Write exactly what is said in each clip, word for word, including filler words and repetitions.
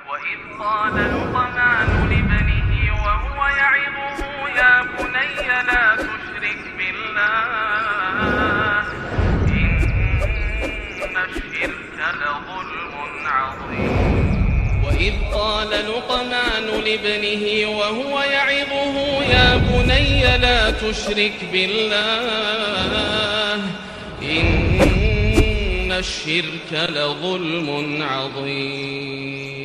وإذ قال لقمان لابنه وهو يعظه يا بني لا تشرك بالله إن الشرك لظلم عظيم وإذ قال لقمان لابنه وهو يعظه يا بني لا تشرك بالله إن الشرك لظلم عظيم.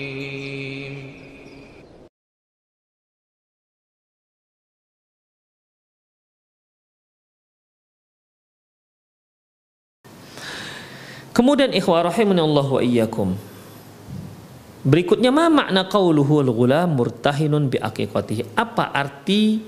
Kemudian ikhwah rahimanallah wa iyyakum, berikutnya ma makna qauluhu al-ghulam murtahinun bi aqiqatihi. Apa arti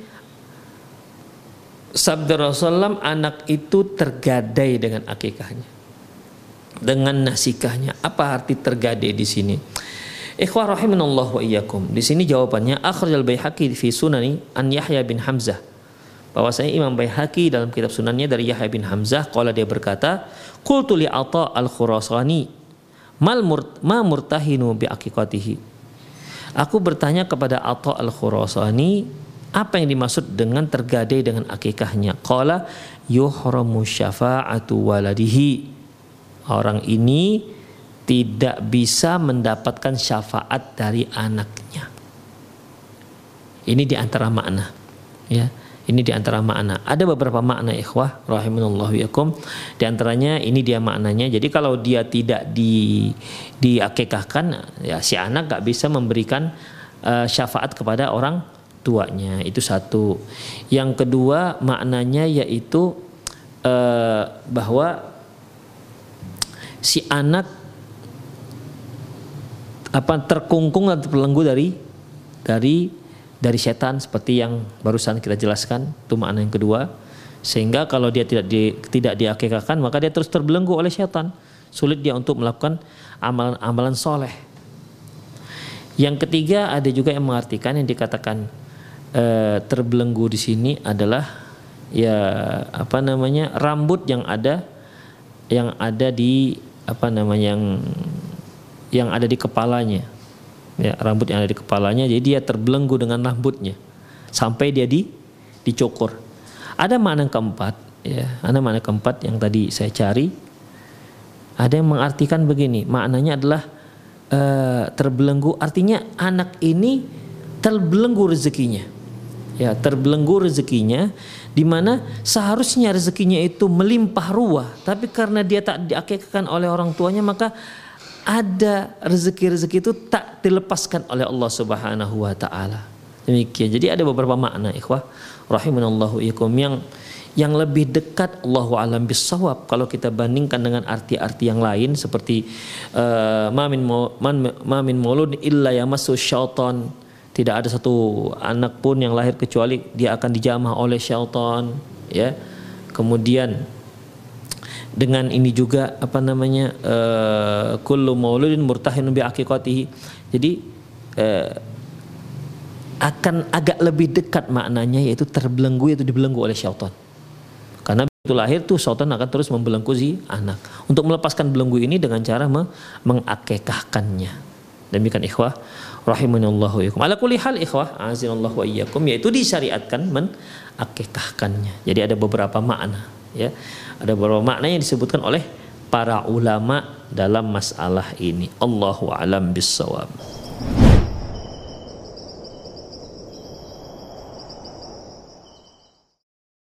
sabda Rasulullah anak itu tergadai dengan akikahnya, dengan nasikahnya? Apa arti tergadai di sini? Ikhwah rahimanallah wa iyyakum, di sini jawabannya akhrajal Baihaqi fi sunani an Yahya bin Hamzah. Bahwasanya Imam Baihaqi dalam kitab sunannya dari Yahya bin Hamzah, qala dia berkata, qultu li Atha al-Khurasani mal murt, ma murtahinu bi aqiqatihi. Aku bertanya kepada Atha al-Khurasani, apa yang dimaksud dengan tergadai dengan akikahnya? Qala yuhramu syafa'atu waladihi. Orang ini tidak bisa mendapatkan syafaat dari anaknya. Ini di antara makna, ya. Ini di antara makna. Ada beberapa makna ikhwah rahimanallahu yakum. Di antaranya ini dia maknanya. Jadi kalau dia tidak di diakikahkan, ya si anak gak bisa memberikan uh, syafaat kepada orang tuanya. Itu satu. Yang kedua maknanya yaitu uh, bahwa si anak apa terkungkung atau terbelenggu dari dari dari setan, seperti yang barusan kita jelaskan. Itu makna yang kedua. Sehingga kalau dia tidak di, tidak diakikahkan, maka dia terus terbelenggu oleh setan. Sulit dia untuk melakukan amalan-amalan soleh. Yang ketiga, ada juga yang mengartikan yang dikatakan e, terbelenggu di sini adalah ya apa namanya rambut yang ada yang ada di apa namanya yang yang ada di kepalanya. Ya, rambut yang ada di kepalanya, jadi dia terbelenggu dengan rambutnya sampai dia di dicukur. Ada makna keempat, ya, ada makna keempat yang tadi saya cari. Ada yang mengartikan begini, maknanya adalah e, terbelenggu, artinya anak ini terbelenggu rezekinya, ya, terbelenggu rezekinya, di mana seharusnya rezekinya itu melimpah ruah, tapi karena dia tak diakikahkan oleh orang tuanya, maka ada rezeki-rezeki itu tak dilepaskan oleh Allah Subhanahu wa taala. Demikian. Jadi ada beberapa makna ikhwah rahimanallahu iyyakum yang yang lebih dekat Allahu a'lam bissawab kalau kita bandingkan dengan arti-arti yang lain seperti uh, ma min ma min maulud illa yamassu syaitan. Tidak ada satu anak pun yang lahir kecuali dia akan dijamah oleh syaitan, ya. Kemudian dengan ini juga apa namanya uh, kullu mauludin murtahinun bi aqiqatihi. Jadi uh, akan agak lebih dekat maknanya yaitu terbelenggu, yaitu dibelenggu oleh syaitan. Karena begitu lahir tuh syaitan akan terus membelenggu si anak. Untuk melepaskan belenggu ini dengan cara me- mengakikahkannya. Demikian ikhwah rahimanallahu iyyakum. Ala kulli hal ikhwah azinallahu wa iyyakum, yaitu disyariatkan mengakikahkannya. Jadi ada beberapa makna, ya. Ada beberapa makna yang disebutkan oleh para ulama dalam masalah ini. Allahu a'lam bissawab.